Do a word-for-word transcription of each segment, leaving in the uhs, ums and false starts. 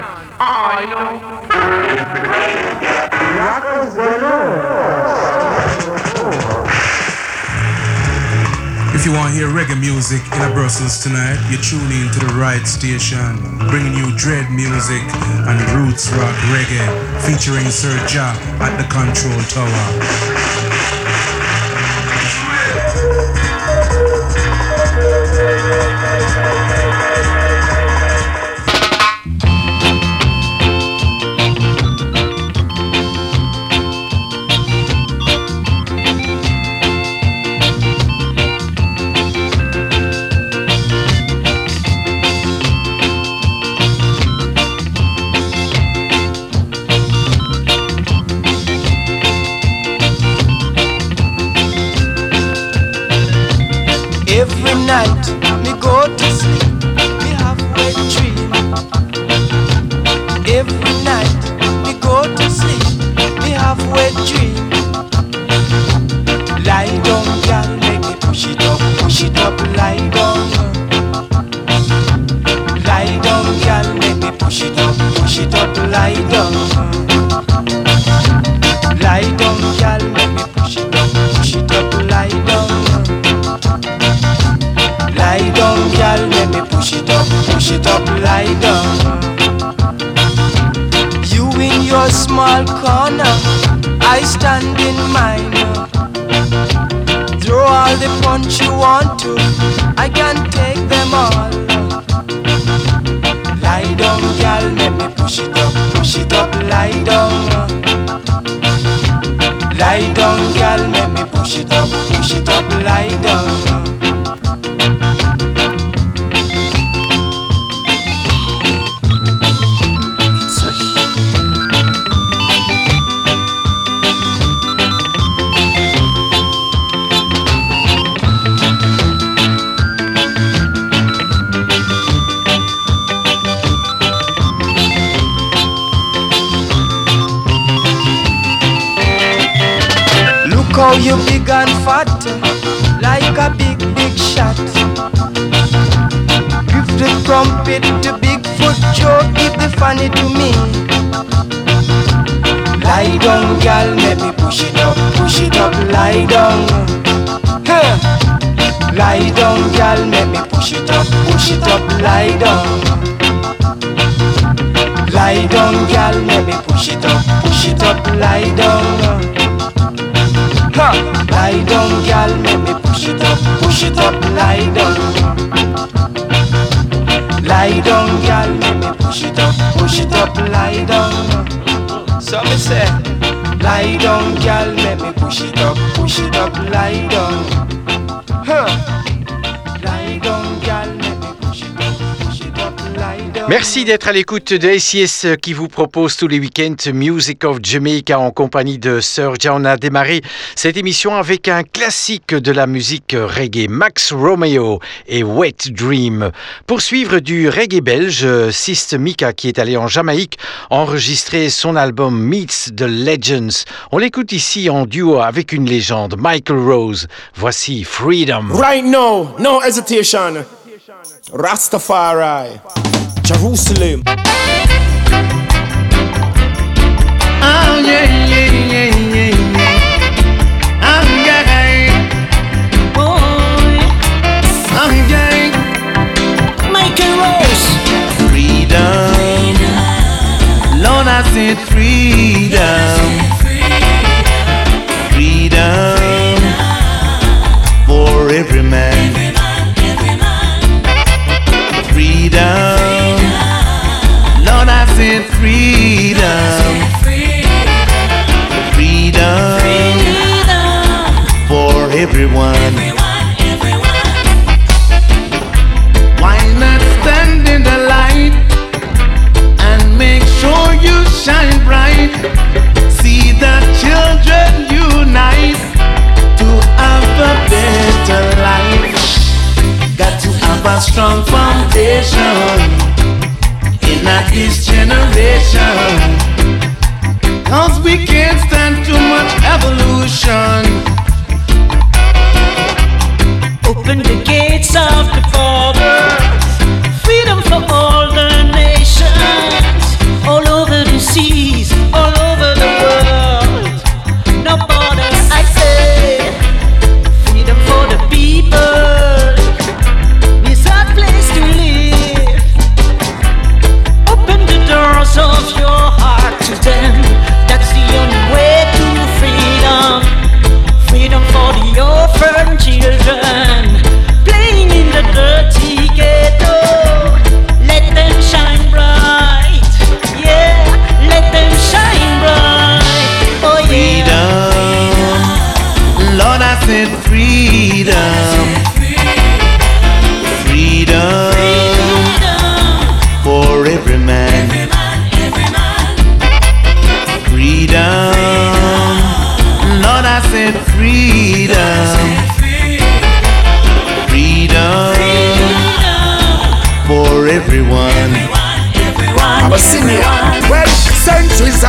I know. If you want to hear reggae music in Brussels tonight, you tune in to the right station, bringing you dread music and roots rock reggae, featuring Sir Ja at the Control Tower. Every night me go to sleep, me have wet dream. Every night me go to sleep, me have wet dream. Lie down, girl, make me push it up, push it up, lie down. Lie down, girl, make me push it up, push it up, lie down. Lie down, girl, make me push it up, push it up, lie down. Lie down, girl, let me push it up, push it up, lie down. You in your small corner, I stand in mine. Throw all the punch you want to, I can take them all. Lie down, girl, let me push it up, push it up, lie down. Lie down, girl, let me push it up, push it up, lie down. How you big and fat, like a big, big shot. Give the trumpet to Bigfoot Joe, give the funny to me. Lie down, girl, let me push it up, push it up, lie down. Huh. Lie down, girl, let me push it up, push it up, lie down. Lie down, girl, let me push it up, push it up, lie down. Ha! Lie down, girl, let me push it up, push it up, lie down. Lie down, girl, let me push it up, push it up, lie down. So me say, lie down, girl, let me push it up, push it up, lie down. Huh? Lie down, girl, let me push it up, push it up, lie down. Merci d'être à l'écoute de S I S qui vous propose tous les week-ends Music of Jamaica en compagnie de Sir Ja. On a démarré cette émission avec un classique de la musique reggae, Max Romeo et Wet Dream. Pour suivre du reggae belge, Sist Mika qui est allé en Jamaïque enregistrer son album Meets the Legends. On l'écoute ici en duo avec une légende, Michael Rose. Voici Freedom. Right now, no hesitation. Rastafari. Jerusalem. Oh yeah, yeah, yeah, yeah, yeah. Oh yeah, boy. Oh yeah. Michael Rose. Freedom. Freedom. Lord, I said freedom. Freedom. Freedom. For every man. Every man, every man. Freedom. Lord, I said freedom, freedom, freedom for everyone. everyone, everyone. Why not stand in the light and make sure you shine bright? See the children unite to have a better life. Got to have a strong foundation in this generation, 'cause we can't stand too much evolution. Open the gates of the borders, freedom for all the nations.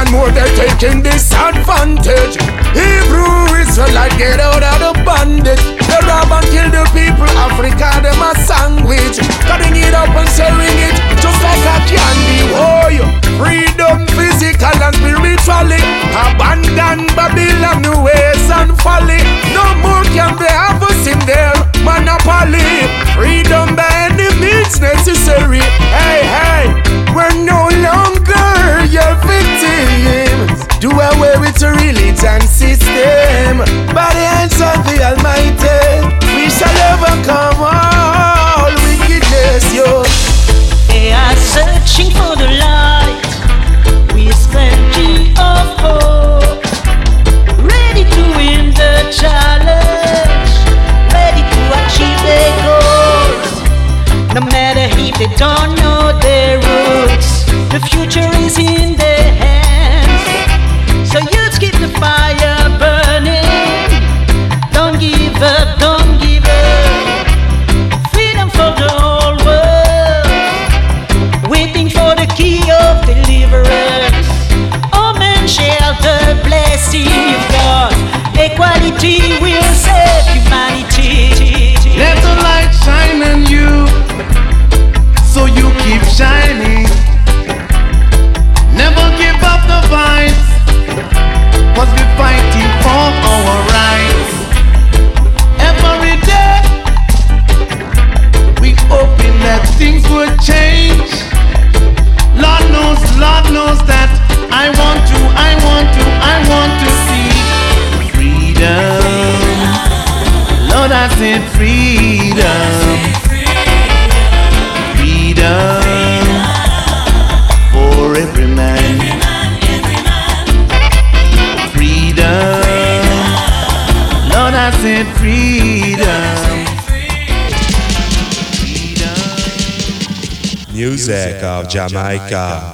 and more they're taking disadvantage. Hebrew Israelite get out of the bondage. They rob and kill the people, Africa them a sandwich. Cutting it up and selling it just like a candy. Oh, freedom physical and spiritually. Abandon Babylon ways and folly. No more can they have us in their monopoly. Freedom by any means necessary. Hey, hey, we're no longer your victims. Do away with the religion system. By the hands of the Almighty, we shall overcome all wickedness, yo. They are searching for the light with plenty of hope, ready to win the challenge, ready to achieve their goals. No matter if they don't know their roots, the future is in their hands. So youth, keep the fire burning. Don't give up, don't give up. Freedom for the whole world, waiting for the key of deliverance. All men share the blessing of God. Equality will save humanity. Let the light shine on you, so you keep shining. Never give up the fight, cause we're fighting for our rights. Every day we hoping that things will change. Lord knows, Lord knows that I want to, I want to, I want to see freedom. Lord, I said freedom. Freedom for every man. Freedom. Lord, I said freedom. Music of Jamaica.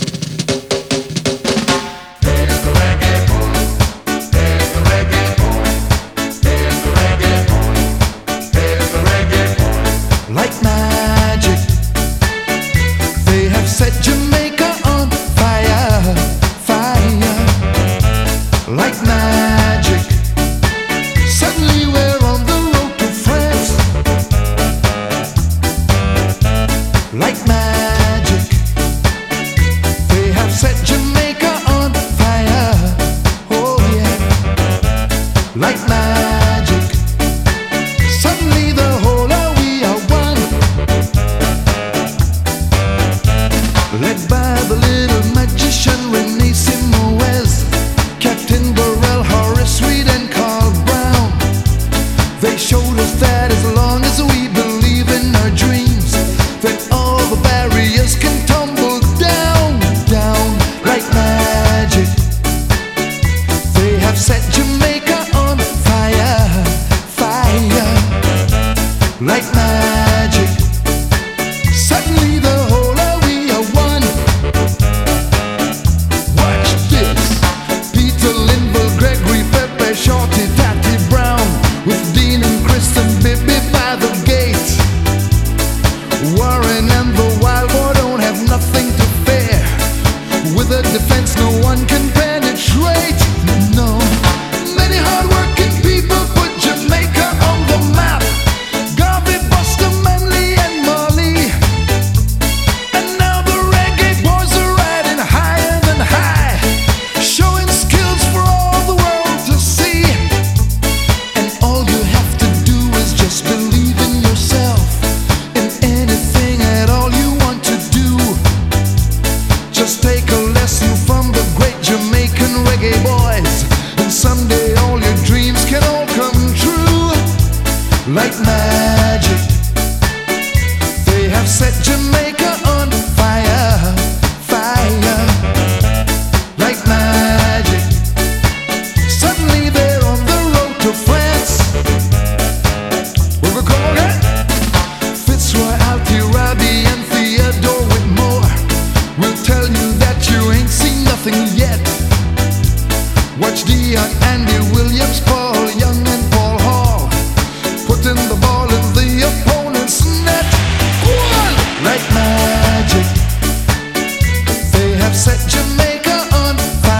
Like magic, they have set Jamaica on fire, fire. Like magic, suddenly we're on the road to France. Like magic, they have set Jamaica on fire, oh yeah. Like magic, suddenly the whole of we are one. Led by the little magician Rene Simoes, Captain Burrell, Horace Reed and Carl Brown. They showed us that as long as we believe in our dreams, that all the barriers can tumble down, down. Like magic, they have set Jamaica on fire, fire. Like magic, suddenly the whole of we are one. Watch this. Peter Linville, Gregory Pepe, Shorty, Tatty Brown, with Dean and Chris and Bibi by the gate. Warren and the Wild Boy don't have nothing to fear. With a defense no one can penetrate. No. Many hard-working people put Jamaica on the map. Garvey, Buster, Manley and Marley. And now the reggae boys are riding higher than high, showing skills for all the world to see. And all you have to do is just believe in yourself, in anything at all you want to do. Just take a lesson from the great Jamaican reggae boys, and someday all your dreams can all come true. Like magic, they have set Jamaica on fire, fire. Like magic, suddenly they're on the road to France. Where we come again? Fitzroy, Alti, Robbie and Theodore Whitmore will tell you that you ain't seen nothing yet. Watch Dion, Andy Williams, Paul Young and Paul Hall putting the ball in the opponent's net. One! Like magic, they have set Jamaica on fire.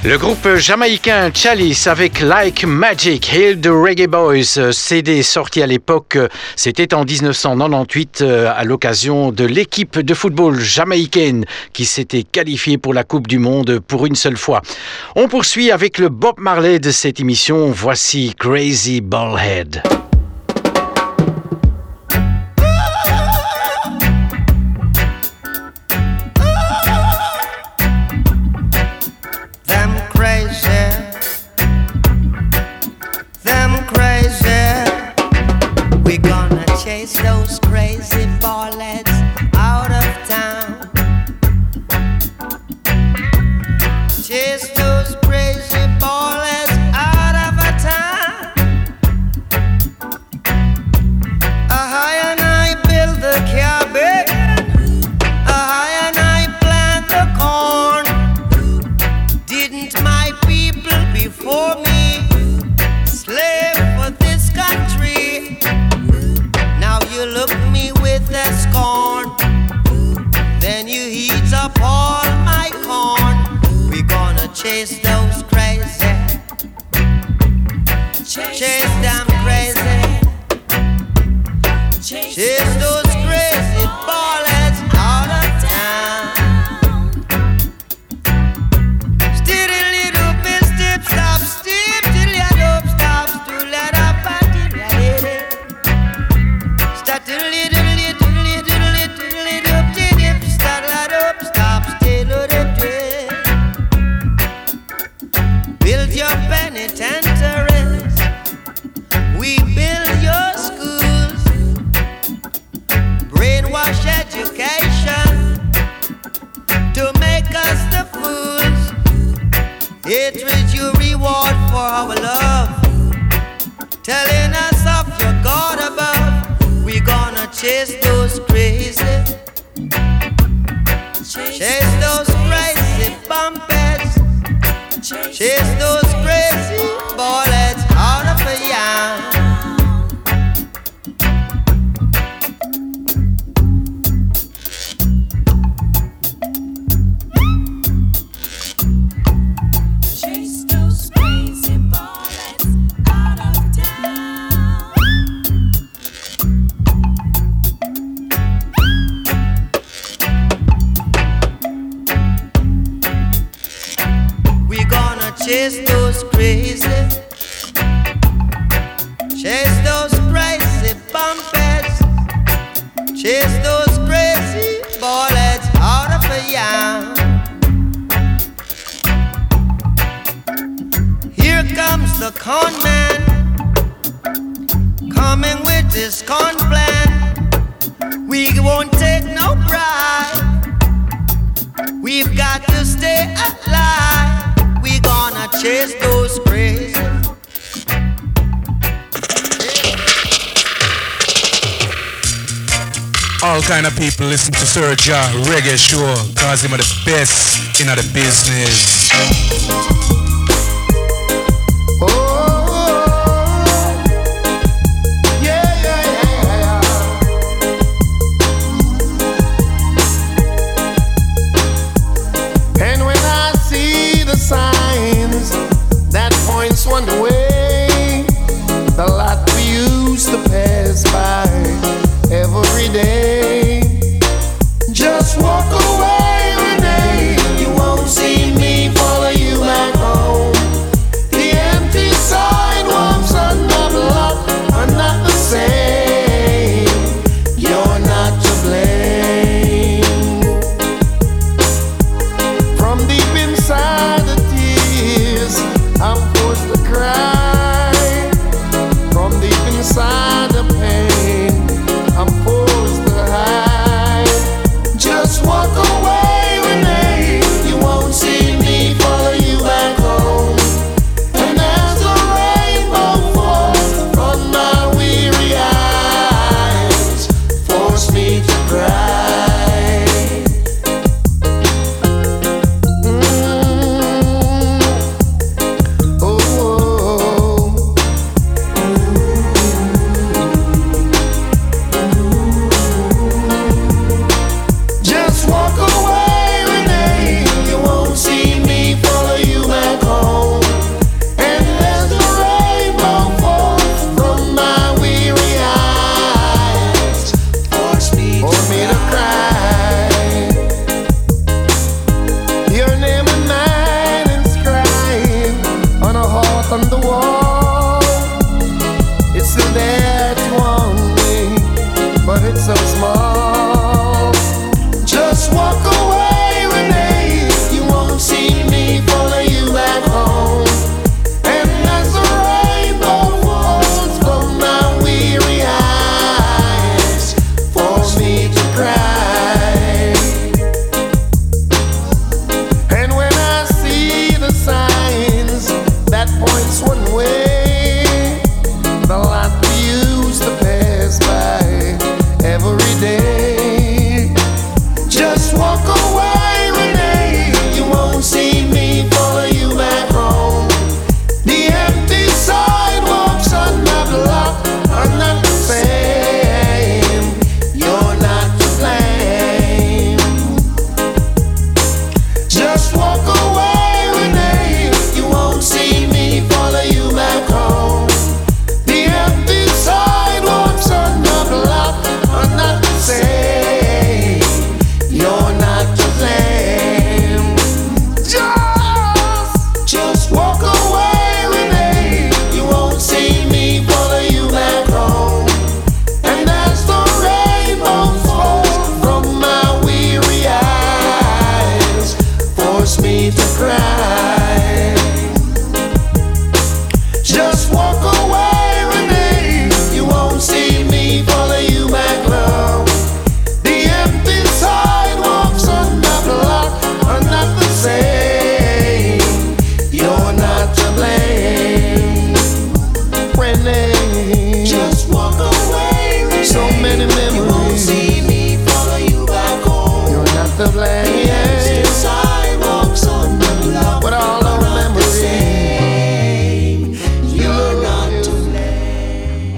Le groupe jamaïcain Chalice avec Like Magic, Hail the Reggae Boys, C D sorti à l'époque, c'était en dix-neuf cent quatre-vingt-dix-huit à l'occasion de l'équipe de football jamaïcaine qui s'était qualifiée pour la Coupe du Monde pour une seule fois. On poursuit avec le Bob Marley de cette émission, voici Crazy Ballhead. Chase those crazy ballheads out of town. Chase those crazy ballheads out of a town. A high and I build the cabbage. A high and I plant the corn. Didn't my people before me slave for this country? Now you look me with a scorn, then you heat up all my corn. We gonna chase those crazy, chase, chase them crazy, chase, chase those crazy ballheads out of town. Steady little bit, step, stop, step, till you don't stop, still let up and till you start to little, little, little, little, little, dip, start light up, stop, still up, dip. Build your penitentiaries, we build your schools. Brainwash education to make us the fools. Hatred you reward for our love, telling us of your God above. We gonna chase those crazy, chase those crazy bumpers, chase those crazy ballheads out of a yam. Chase those crazy ballheads out of town. We gonna chase those crazy, chase those crazy bumpers, chase those crazy ballheads out of a yam. Here comes the con man, coming with his con plan. We won't take no bribe, we've got to stay alive. We gonna chase those crazy. All kind of people listen to Sir Ja Reggae Show, cause him are the best in the business. One way, the lot we used to pass by every day. Just walk away, Renee. You won't see me follow you back home. The empty sidewalks on the block are not the same. You're not to blame. From deep inside the tears, I'm forced to cry. From deep inside the pain, I'm forced to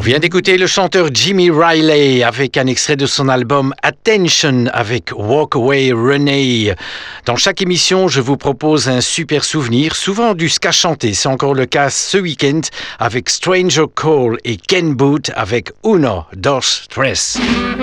On vient d'écouter le chanteur Jimmy Riley avec un extrait de son album Attention avec Walk Away Renee. Dans chaque émission, je vous propose un super souvenir, souvent du ska chanté. C'est encore le cas ce week-end avec Stranger Cole et Ken Boothe avec Uno, Dos, Tres.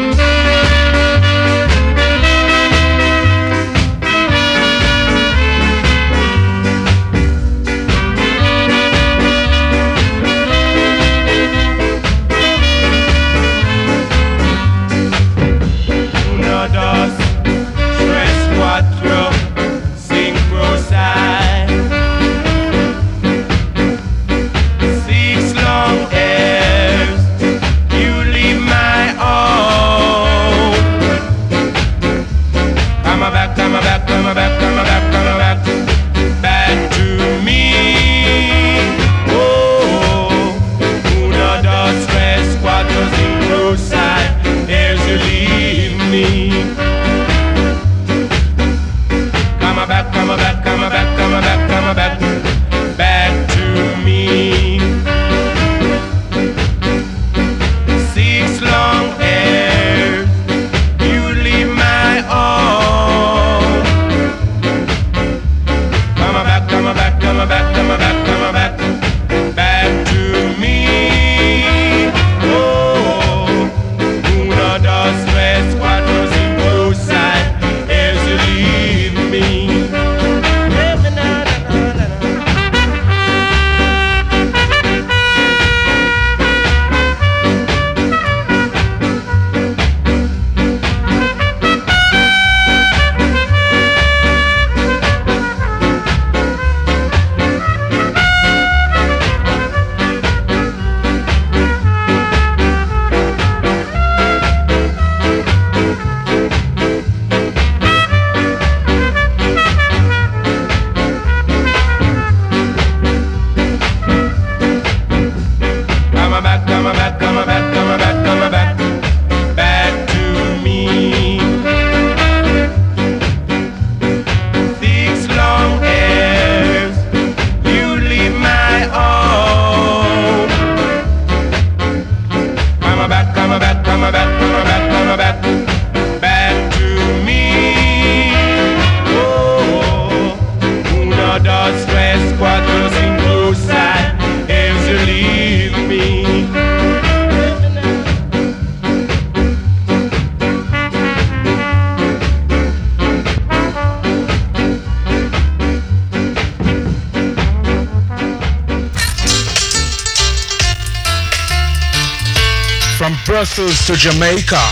Brussels to Jamaica,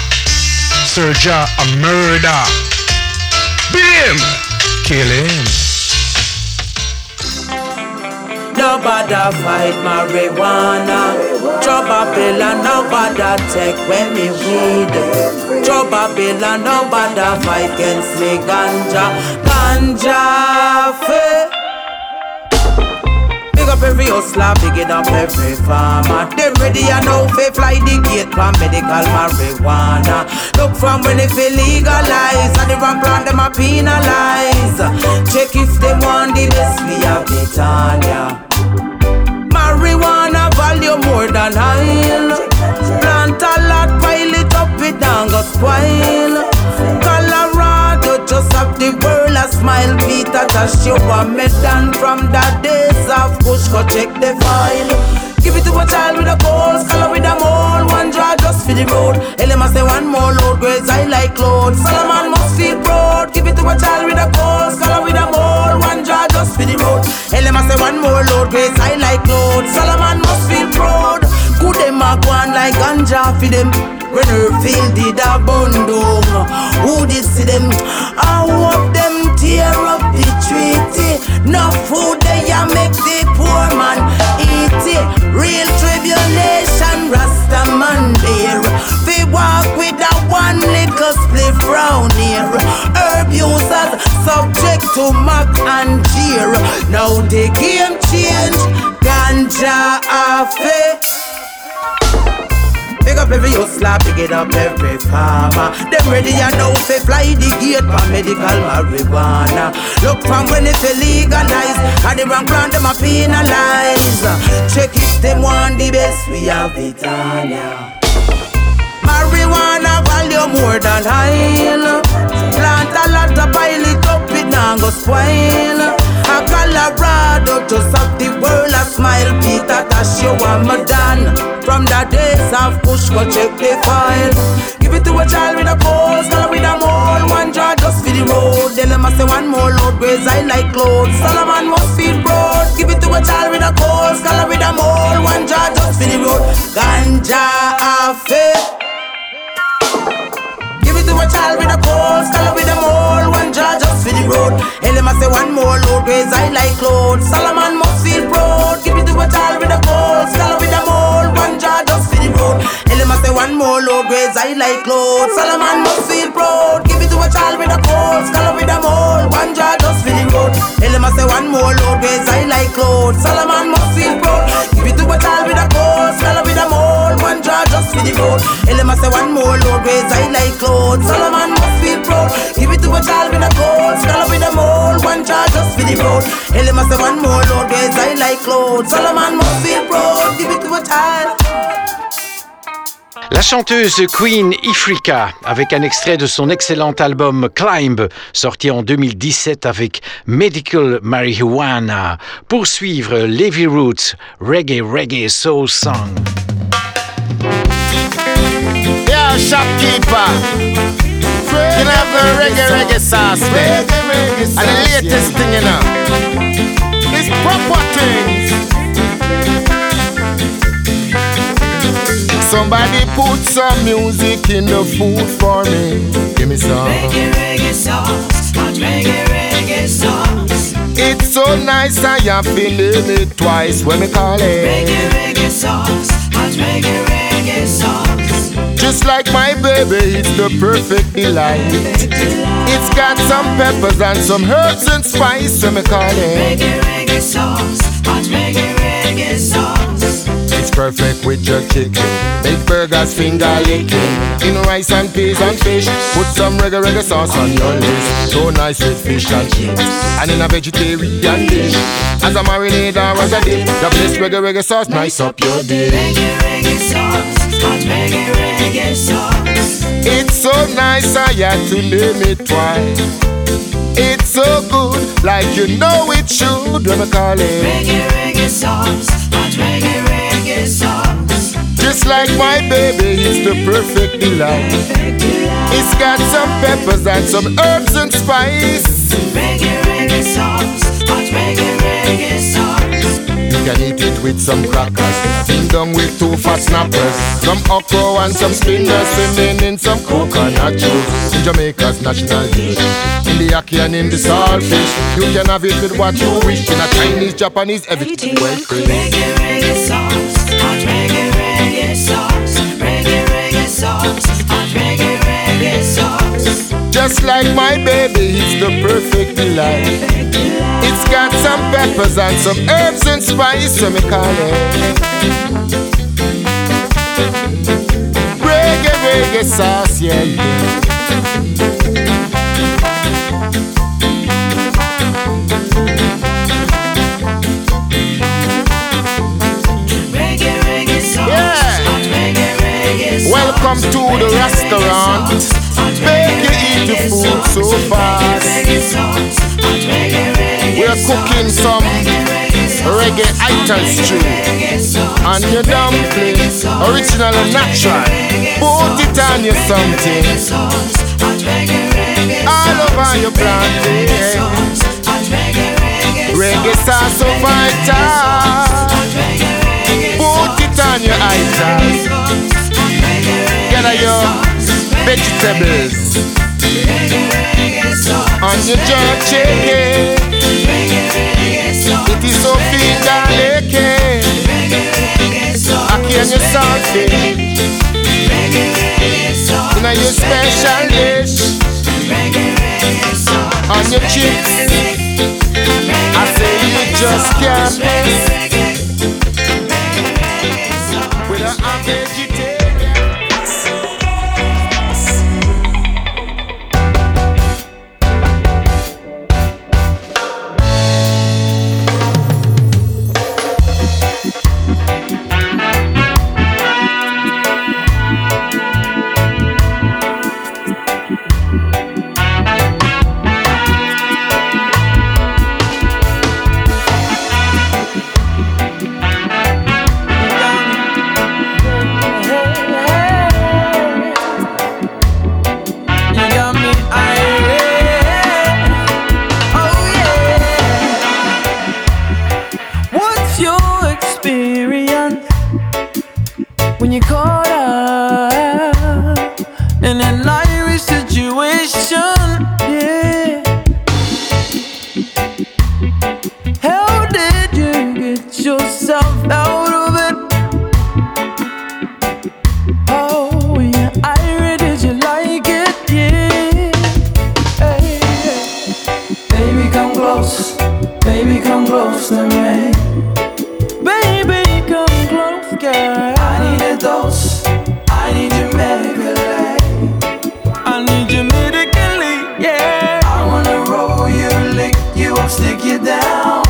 Serja a murder. Beat him, kill him. Nobody fight marijuana. Joe Babylon, nobody take when me weed. Joe Babylon, nobody fight against me ganja. Ganja fe. Big up every hustler, big it up every farmer. Them ready and now fi fly the gate for medical marijuana. Look from when it feel legalize, and the wrong plan them a penalize. Check if them want the best, we have the Tanya. Marijuana value more than oil. Plant a lot, pile it up, it down go spoil. Colorado just have the world a smile. Peter Tosh, you want me done from the days of push, go check the file. Give it to a child with a cold, scholar with a mold. One draw just for the road. Elema say one more load, grades I like load. Solomon must feel proud. Give it to a child with a cold, scholar with a mold. One draw just for the road. Elema say one more load, grades I like load. Solomon must feel proud. Good them a go on like ganja for them. When her field did a bun down, who did see them? I hope them tear up the treaty. No food they a make the poor man eat it. Real tribulation, Rasta man there. We walk with a one little spliff round here. Herb users subject to mock and jeer. Now the game change, ganja affair. Big up every hustler, pick it up every farmer. Them ready and now fi fly the gate for medical marijuana. Look from when it fi legalize, and the wrong plan them a penalize. Check if them want the best, we have it on ya. Marijuana value more than oil. Plant a lot of pile it up, it now go spoil. A Colorado just have the world a smile. Peter Tosh, you want me done. From the days of push, go check the file. Give it to a child with a cold, scholar with a mole. One jar just for the road. Then them a say one more load, graze I like clothes. Solomon must feed broad. Give it to a child with a cold, scholar with a mole. One jar just for the road. Ganja affair. To a child with a cold, scholar with a mole, one jar just for the road. And them a say one more load, graze I like clothes. Solomon must feel proud. Give it to a child with a cold, scholar with a mole, one jar just for the road. And them a say one more load, graze I like clothes. Solomon must feel proud. Give it to a child with a cold, scholar with a mole, one jar just for the road. And them a say one more load, graze I like clothes. Solomon must feel proud. Give it to a child with a cold, scholar with a mole, one jar just for the road. And them a say one more load, graze I like clothes. Solomon must feel proud. Give it to a child with a cold, scholar with a mole, one jar just for the road. Hell, him must say one more load, guys, I like clothes. Solomon must feel proud. Give it to a child. La chanteuse Queen Ifrica, avec un extrait de son excellent album Climb, sorti en deux mille dix-sept avec Medical Marijuana. Pour suivre Levi Roots, Reggae Reggae Soul Song. Yeah, shopkeeper. You know the reggae reggae sauce there. And the latest thing, you know, it's proper things. Somebody put some music in the food for me. Give me some reggae reggae sauce, hot reggae reggae sauce. It's so nice I am feeling it twice when we call it reggae reggae sauce, hot reggae reggae sauce. Just like my baby, it's the perfect delight. It's got some peppers and some herbs and spice, so me call it reggae reggae sauce, hot reggae reggae sauce. It's perfect with your chicken, make burgers finger licking. In rice and peas and fish, put some reggae reggae sauce on your list. So nice with fish and chips, and in a vegetarian dish, as a marinade or as a dip, the best reggae reggae sauce nice up your dish. Reggae reggae sauce, hot reggae reggae sauce. It's so nice I had to name it twice. It's so good, like you know it should. When we call it reggae reggae sauce, hot reggae reggae sauce. Just like my baby, it's the perfect delight. It's got some peppers and some herbs and spice. Reggae reggae sauce, hot reggae reggae sauce. You can eat it with some crackers, ding dong with two fat snappers, some okra and some spinners, swimming in some coconut juice. In Jamaica's national dish, in the ackee and in the saltfish. You can have it with what you wish, in a Chinese, Japanese, everything well free. Reggae reggae sauce, hot reggae reggae sauce. Reggae reggae sauce, hot reggae reggae sauce. Just like my baby, it's the perfect delight. It's got some peppers and some herbs and spice, so me call it reggae reggae sauce, yeah, yeah. Reggae reggae sauce, yeah. hot reggae reggae sauce. Welcome to the restaurant. Make you eat the food so fast. We're cooking some reggae ital stew and your dumplings, original and natural. Put it on your something all over your plantain. Reggae sauce so vital. Put it on your ital. Get your vegetables on your jerk chicken. It is so finger licking. Ackee and your saltfish in a your special dish. On your chips, I say you just can't miss with a vegetarian. situation, yeah. How did you get yourself out of it? Oh, yeah, Ira, did you like it? Yeah. Hey, hey. Baby, come close. Baby, come close to me. Baby, come close, girl. I need a dose. I need you medically. I need you medically, yeah. I wanna roll you, lick you up, stick you down.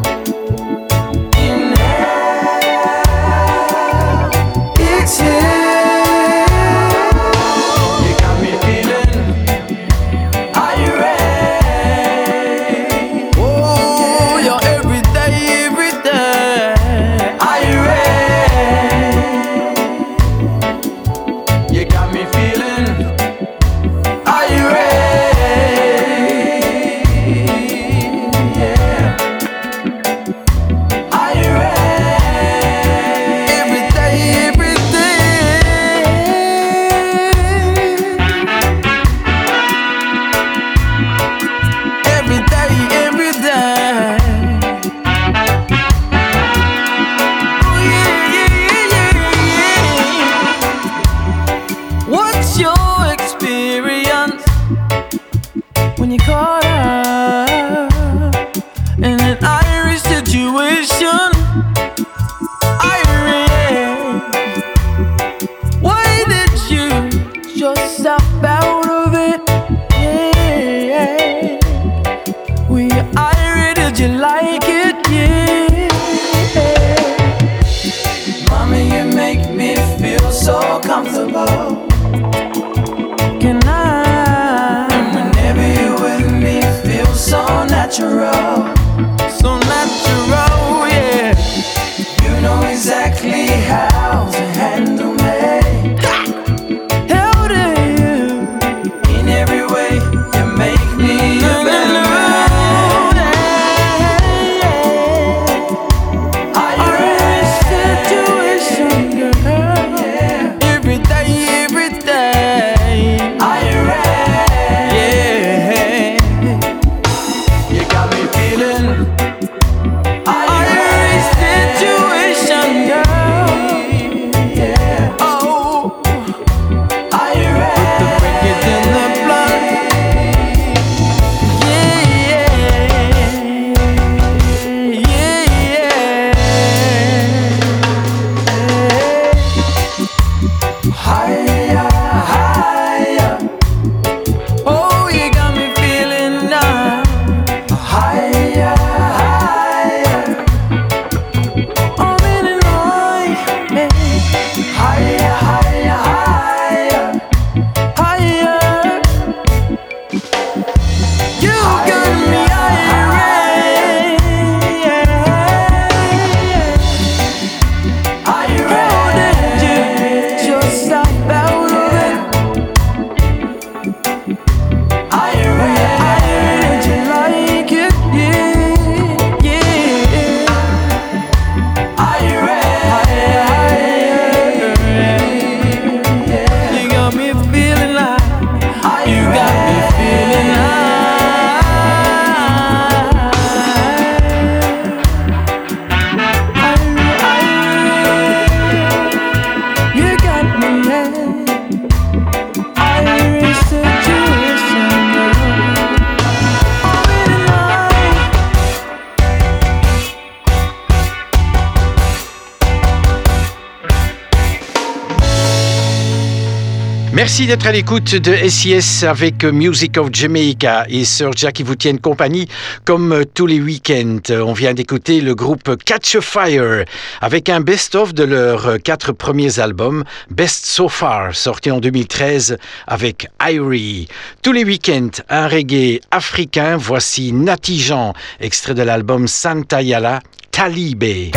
Merci d'être à l'écoute de S I S avec Music of Jamaica et Serja qui vous tiennent compagnie comme tous les week-ends. On vient d'écouter le groupe Catch a Fire avec un best-of de leurs quatre premiers albums, Best So Far, sorti en deux mille treize avec Irie. Tous les week-ends, un reggae africain. Voici Natty Jean, extrait de l'album Santa Yala, Talibé.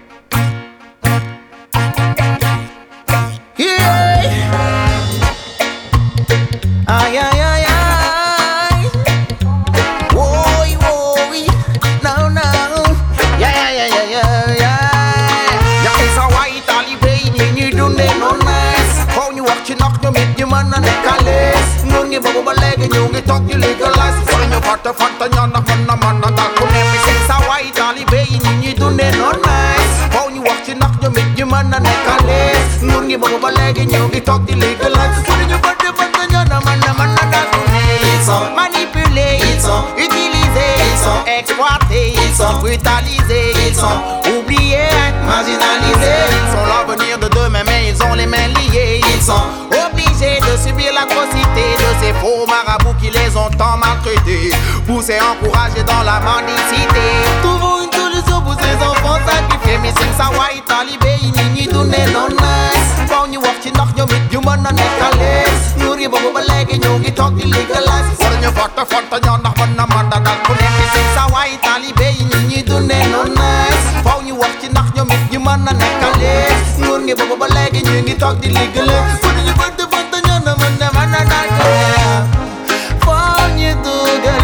Ay, ay, ay, ay. Woy, woy. No, no. Yeah, yeah, yeah, yeah, yeah, yeah. Yeah, it's a white Talibé, you do no nice. How you walk, you knock, you meet your man and the colors. No, Ngi bubble leg and you get talk you legalize. When you got the fat and you're not gonna man and that could never say so white Ali Bay and you do no nice. How you walk you knock you make you man and neck a lace. Ngi bubble leg and you get talk you legalize. When you got the fat and you're not man and man and that could never manipulate, utiliser, exploiter, brutaliser, oublier, marginaliser. Ils sont l'avenir de demain mais ils ont les mains liées. Ils sont obligés de subir l'atrocité de ces faux marabouts qui les ont tant maltraités. Poussés, encouragés dans la mendicité. Trouvons une solution pour ces enfants sacrifiés. Mais c'est ça, white, talibé, ni donné non nice. Quand you walk, you knock, you meet, you man, and make a list. You give up a leg and you get talk illegalized. When you fuck the front and you're not one of man that could never say so white, talibé, ni donné non nice. Quand you walk, you knock, you meet, you man, and make a list. You give up a leg and you get talk illegalized. When you fuck the front and you're not one of man that could never. When you do the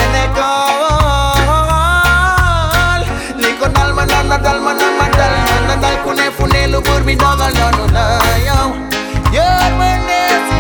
Nadal, manal, mandal, nadal, kune, fune, lubur, mi dogal, no, no, no, yo. You're my next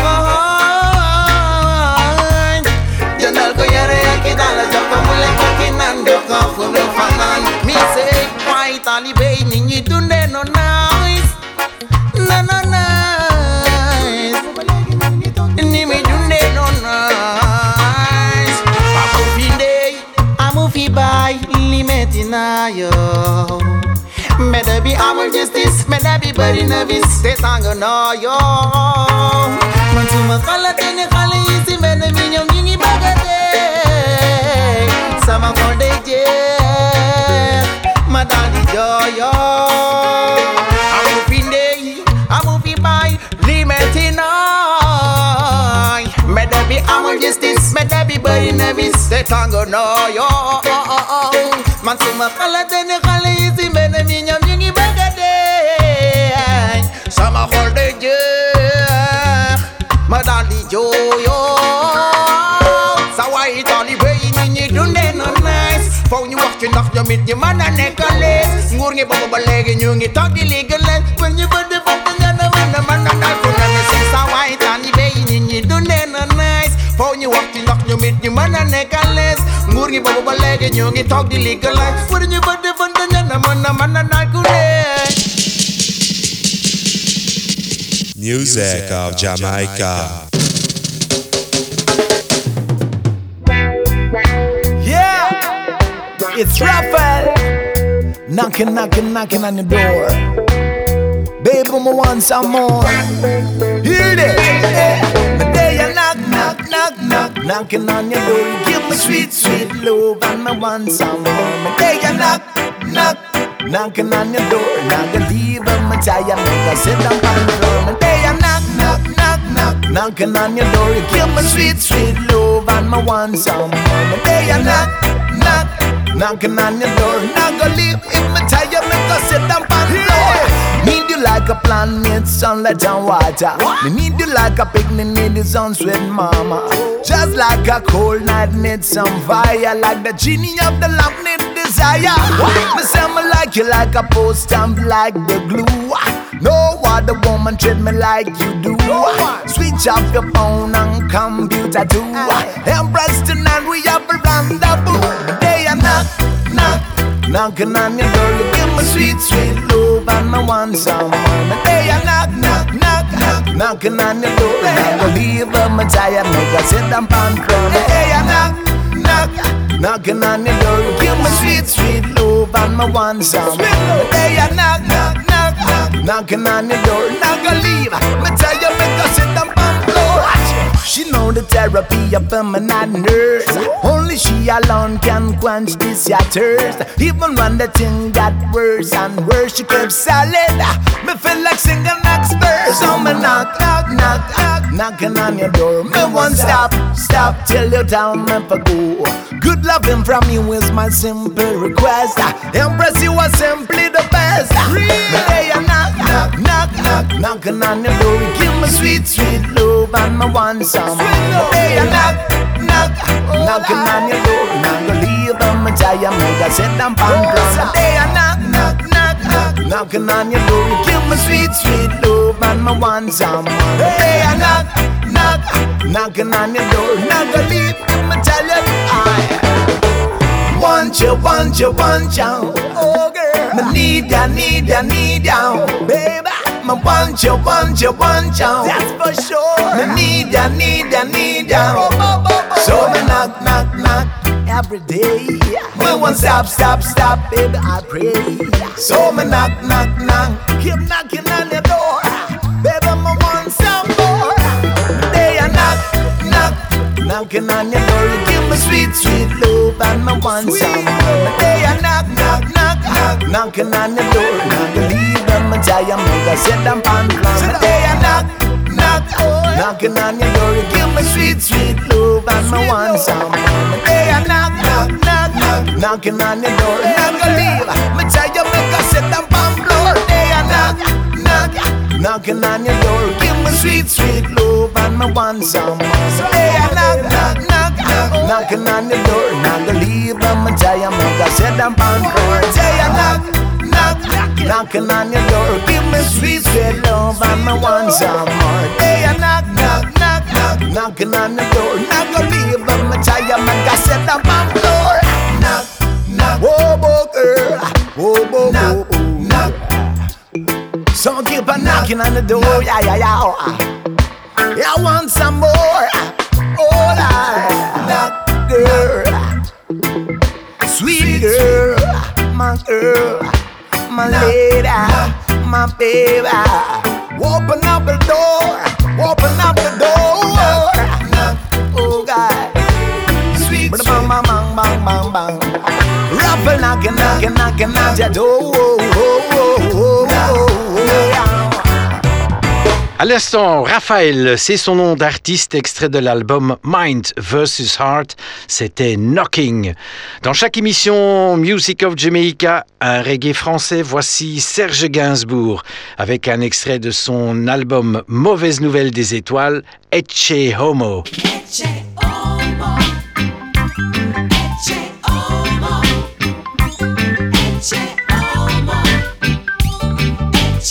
mine. Janal ko yare, akidala, japa, mule, kakinan, doka, funo, fanan. Me say, white, talibé, ninyi, dunde, no, nice. No, no, nice. Nimi, dunde, no, nice. Amu fide, amu fi bay, limetina, yo. Better be our justice, better be body nervous. Stay stronger, no, yo. Mansuma kala tene kala isi, better be young, yingi bagade. Sama konde je, madali jo, yo. Amu finde, amu fi bay, limetina. Better be our justice, better be body nervous. Stay stronger, no, yo. Mansuma kala tene kala isi, better be young, yingi bagade. Sama konde je, madali jo, yo. Sawa itali bay ni dunde no nice. Phone you walk you knock you meet your man and necklace. Ngur ngi baba balegi ñu ngi talk illegal. When you put the fuck on the man the man and I could never say sawa itali bay ni dunde no nice. Phone you walk you knock you meet your man and necklace. Ngur ngi baba balegi ñu ngi talk illegal. When you put the fuck on the man the man and I could Music of Jamaica. Yeah, it's Raphael knocking, knocking, knocking on your door. Baby, I want some more. Hear it, yeah. The day I knock, knock, knock, knock, knocking on your door. You give me sweet, sweet love, and I want some more. The day I knock, knock, knocking on your door. Not gonna leave on my tie, make I sit down on the floor. The day I knock, knock, knock, knock, knocking on your door. You give me sweet, sweet love, and I want some more. The day I knock, knock, knocking on your door. Not gonna leave in my tie, make I sit down on the floor. Need you like a plant, need sunlight and water. Me need you like a picnic, need the sun sweet mama. Just like a cold night, need some fire. Like the genie of the lamp, need desire. Me say me like you like a post stamp, like the glue. No other woman treat me like you do. Switch off your phone and computer too. Embrace tonight, we have a rendezvous. The day I knock, knock, knocking on your door. You give me sweet, sweet love and I want some more. The day I knock, knock, knock, knock, knocking on your door. I will leave her my tire, make her sit down on the floor. The day I knock, knock, knocking on your door. You give me sweet, sweet love and I want some more. The day I knock, knock, knock, knock, knocking on your door. Not gonna leave, me tell you, make her sit down on the floor. She know the therapy of feminine nurse. Only she alone can quench this ya thirst. Even when the thing got worse and worse, she kept solid. Me feel like singing next verse. So me knock, knock, knock, knock, knocking on your door. Me won't stop, stop till you tell me for go. Good loving from you is my simple request. Embrace you are simply the best. Me day I knock, knock, knock, knock, knocking on your door. Give me sweet, sweet love and me want some. Hey, I knock, knock, knocking on your door. Not gonna leave on my tire, make I sit down on the ground. Hey, I knock, knock, knock, knock, knocking on your door. You give me sweet, sweet love and me want some. Hey, I knock, knock, knocking on your door. Not gonna leave, let me tell you, I want you, want you, want you. Oh girl, me need ya, need ya, need ya, baby. Me want you, want you, want you. That's for sure. Me need ya, need ya, need ya. So me knock, knock, knock every day. Me won't stop, stop, stop, baby, I pray. So me knock, knock, knock, keep knocking on your door. Baby, me want some more. Day I knock, knock, knocking on your door. You give me sweet, sweet love and me want some more. Day I knock, knock, knock, knock, knocking on your door. Not gonna leave them and tell you I'm gonna sit down on the day I knock, knock, knocking on your door. You give me sweet, sweet love and me want some more. The day I knock, knock, knock, knock, knocking on your door. Not gonna leave, me tell you make a sit down on the floor. The day I knock, knock, knocking on your door. Give me sweet, sweet love and me want some more. The day I knock, knock, knock, knock, knocking on your door. Not gonna leave, me tell you make a sit down on the floor. The day I knock, knock, knocking on your door. Give me sweet, sweet love and me want some more. Day I knock, knock, knock, knock, knocking on the door. Not gonna leave, but me tell you, man, got set up on the door. Knock, knock, whoa, whoa, girl, whoa, whoa, knock, knock. So keep on knocking on the door, yeah, yeah, yeah. Yeah, I want some more. Oh, knock, girl, sweet girl, my girl. My lady, my baby, open up the door, open up the door. Oh God, sweet, sweet, bang, bang, bang, bang, bang, bang. Rapping, knocking, knocking, knocking at your door. Oh, oh, oh, oh, oh. À l'instant, Raphaël, c'est son nom d'artiste, extrait de l'album Mind versus. Heart, c'était Knocking. Dans chaque émission Music of Jamaica, un reggae français, voici Serge Gainsbourg, avec un extrait de son album Mauvaise Nouvelle des Étoiles, Ecce Homo. Ecce Homo. Ecce Homo. Ecce Homo. Ecce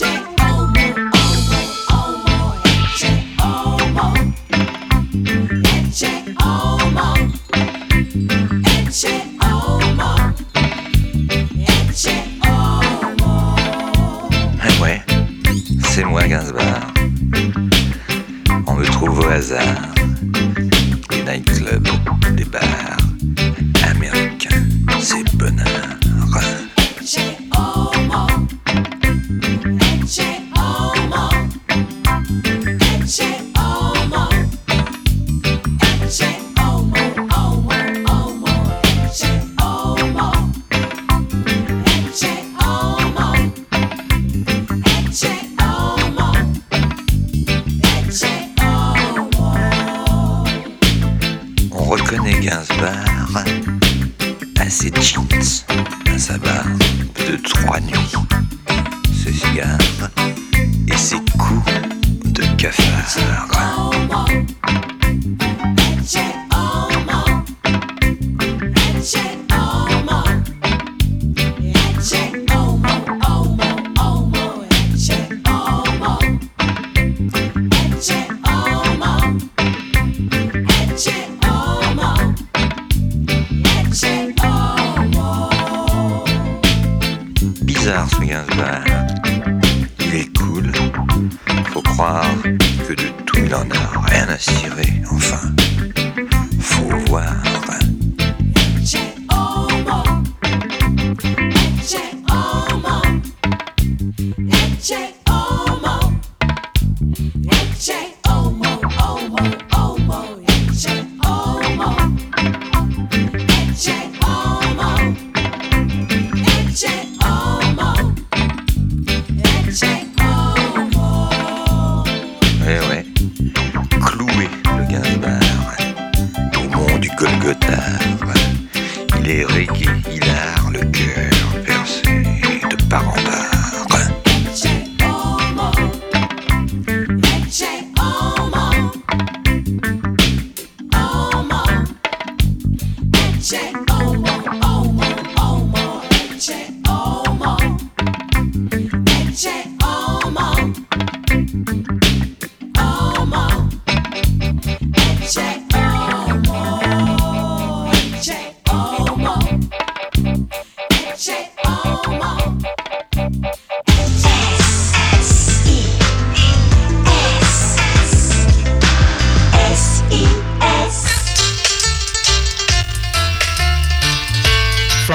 c'est moi Gainsbourg. On me trouve au hasard. Des nightclubs, des bars américains, c'est bonheur. Ecce Homo. Ecce Homo. Ecce Homo. Ecce Homo, Homo, Homo. Ecce Homo. Ecce Homo. Ecce Homo. Ecce Homo. On reconnaît Gainsbourg à ses jeans, à sa barbe de trois nuits, ses cigares et ses coups de cafard. Ecce Homo. Ecce Homo. Ecce Homo, Homo, Homo. Ecce Homo. Ecce Homo. Ecce Homo. Ecce Homo. Bizarre ce Gainsbourg, il est cool, faut croire que de tout il en a rien à cirer, enfin, faut voir. Ecce Homo. Ecce Homo. Ecce Homo. Ecce Homo, Homo, Homo. Ecce Homo. Ecce Homo. Ecce Homo. Ecce Homo. Eh ouais, cloué le Gainsbourg, au mont du Golgotha, il est reggae, hilar, le cœur percé de part en part. Ecce Homo. Ecce Homo. Homo. Ecce Homo, Homo, Homo. Ecce Homo. Ecce Homo. Homo.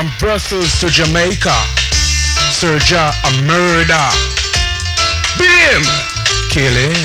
from Brussels to Jamaica. Sir Ja, a murder. Beat him, kill him.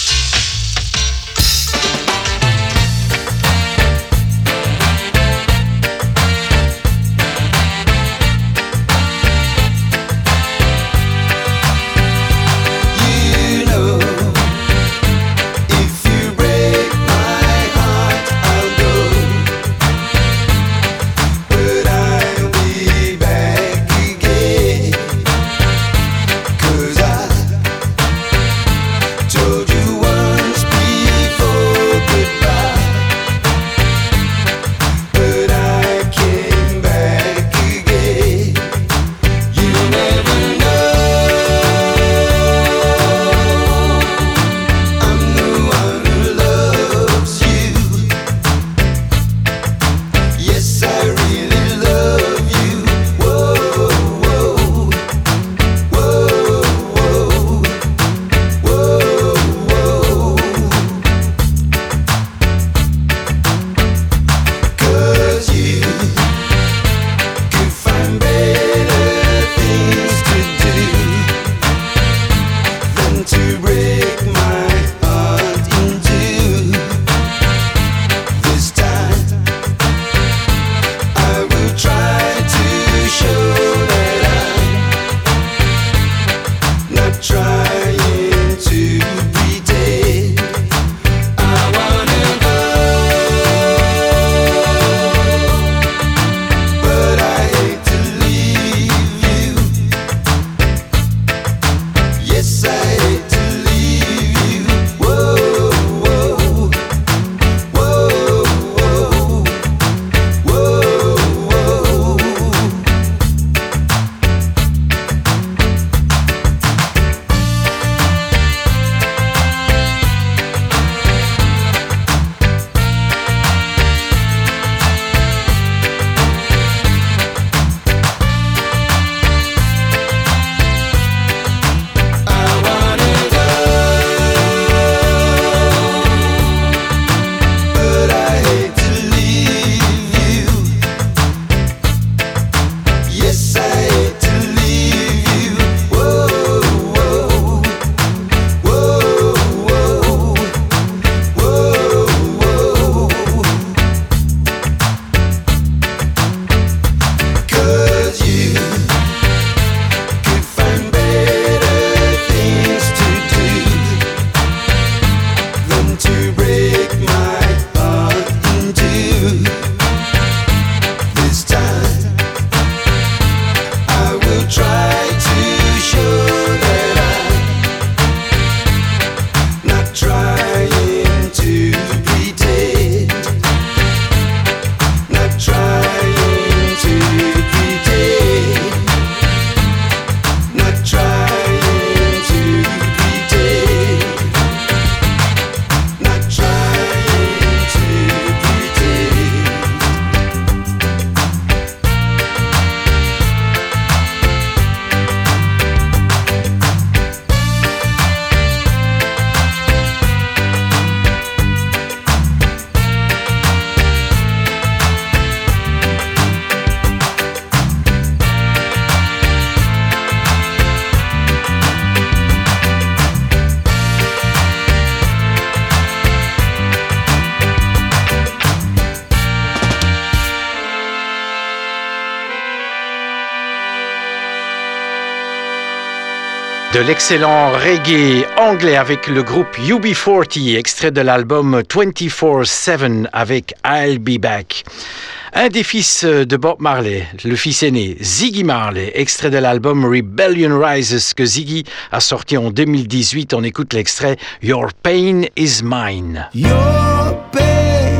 De l'excellent reggae anglais avec le groupe U B quarante, extrait de l'album vingt-quatre sept avec I'll Be Back. Un des fils de Bob Marley, le fils aîné, Ziggy Marley, extrait de l'album Rebellion Rises que Ziggy a sorti en deux mille dix-huit. On écoute l'extrait Your Pain Is Mine. Your pain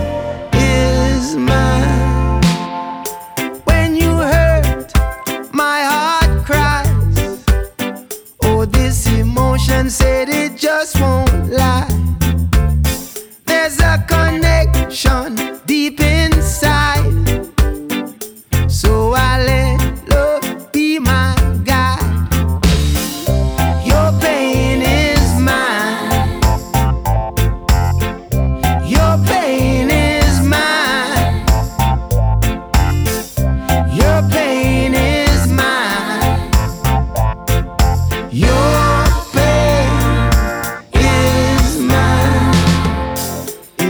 is mine. When you hurt, my heart cries. Oh, this emotion said it just won't lie. There's a connection deep inside. So I let love be my guide. Your pain is mine. Your pain is mine. Your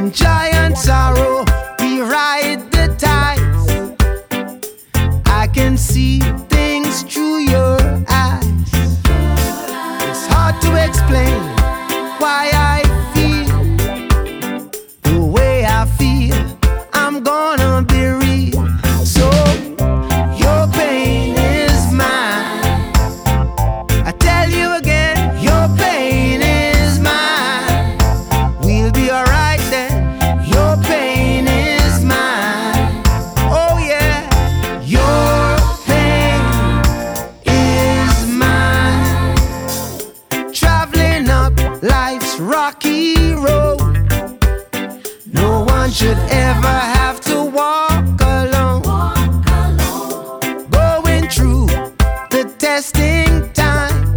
In joy and sorrow, we ride the tides. I can see things through your eyes. It's hard to explain why I feel the way I feel. I'm gonna be real. So your pain is mine. I tell you again, your pain is mine. We'll be alright then. Your pain is mine. Oh yeah, your pain is mine. Traveling up life's rocky road, no one should ever have to walk alone. Going through the testing time,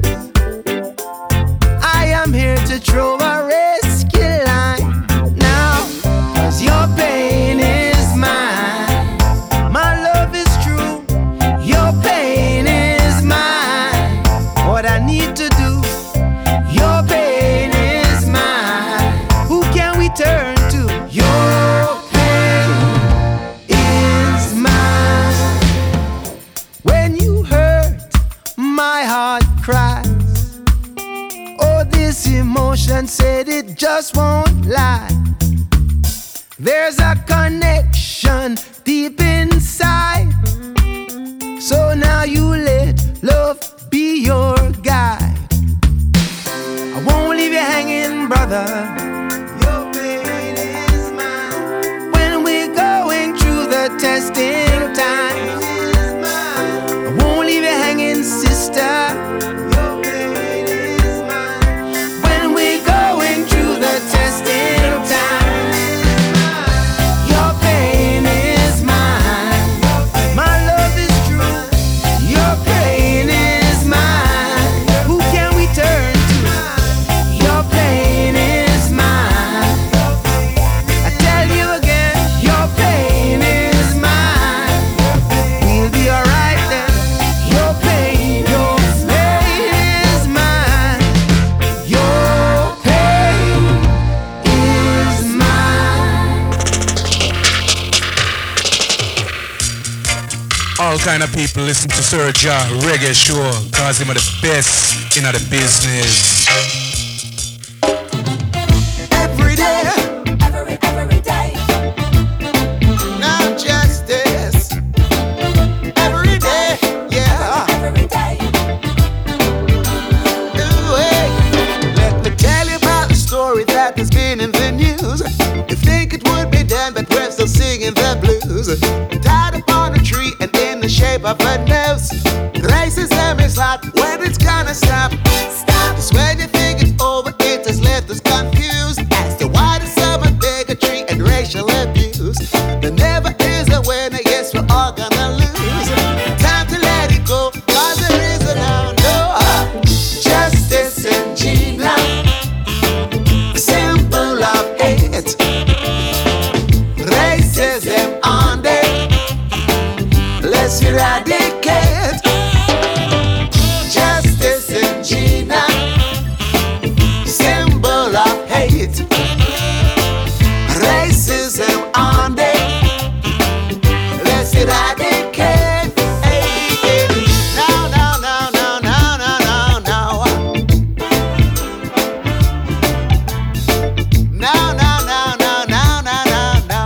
I am here to throw a rescue line now, 'cause your pain is mine. My love is true, your pain is mine. What I need to do, your pain is mine. Who can we turn to? Your pain is mine. When you hurt, my heart cries. Oh, this emotion said it just won't lie. There's a connection deep inside. So now you let love be your guide. I won't leave you hanging, brother. Your pain is mine. When we're going through the testing time, I won't leave you hanging, sister. Your pain is mine. When we're going through the testing time, your pain is mine. My love is true. Your pain is mine. Who can we turn to? Your pain is mine. I tell you again, your pain is mine. We'll be alright then. Your pain, your pain is mine. Your pain is mine. All kind of people listen to Sir Ja Reggae Show, cause him are the best in the business. Every day, every, every day. Now justice. Every day, yeah. Every day. Ooh, hey. Let me tell you about the story that has been in the news. You think it would be done, but we're still singing the blues. Tied upon a tree and in the shape of a nose. Racism is hot, when it's gonna stop? Stop. 'Cause when you think it's over, it has left us confused as to why there's so much bigotry and racial abuse. There never is a winner, yes, we're all gonna lose. Time to let it go, 'cause there is a no, no. Justice and Gina, symbol of hate. Racism on day, let's eradicate. Justice and Gina, symbol of hate. Racism on day, let's eradicate. Hey, hey. No, no, no, no, no, no, no, no. No, no, no, no, no, no, no, no.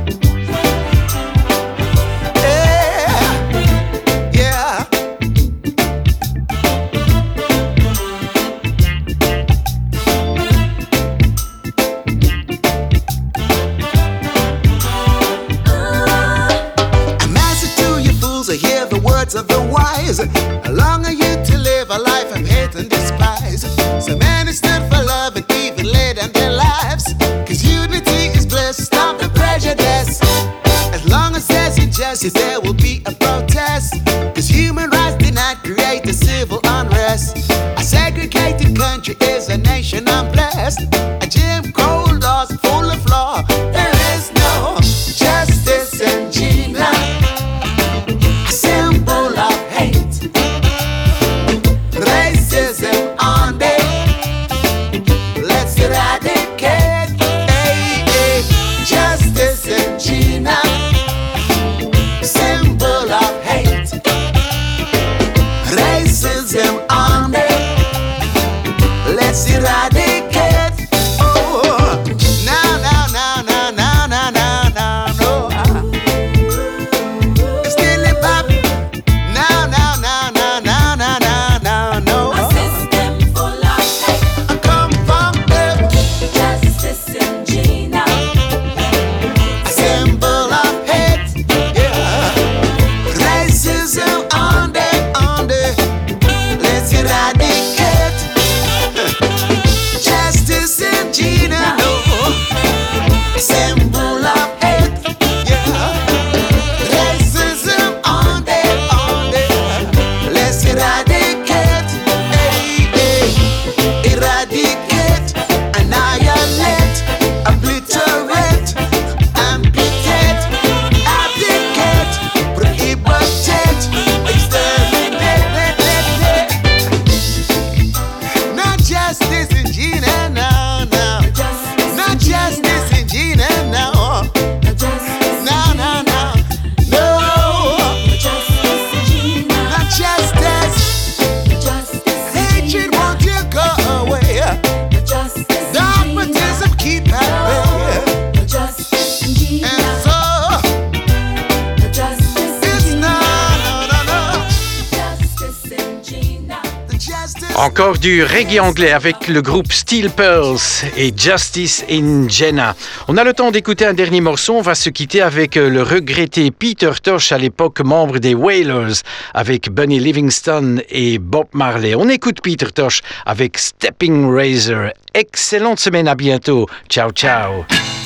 Yeah, yeah. A message to you fools, I hear the words of the wise. How long are you to live a life of hate and despise? So many stood for love and even laid down their lives. 'Cause unity is bliss, stop the prejudice. As long as there's injustice, there will be a protest. 'Cause human rights did not create a civil unrest. A segregated country is a nation unblessed. A Jim Crow laws full of flaw. There is no justice in Gina, a symbol of hate. Racism on day, let's eradicate. Hey, hey. Encore du reggae anglais avec le groupe Steel Pearls et Justice in Jenna. On a le temps d'écouter un dernier morceau. On va se quitter avec le regretté Peter Tosh, à l'époque membre des Wailers, avec Bunny Livingston et Bob Marley. On écoute Peter Tosh avec Stepping Razor. Excellente semaine, à bientôt. Ciao, ciao.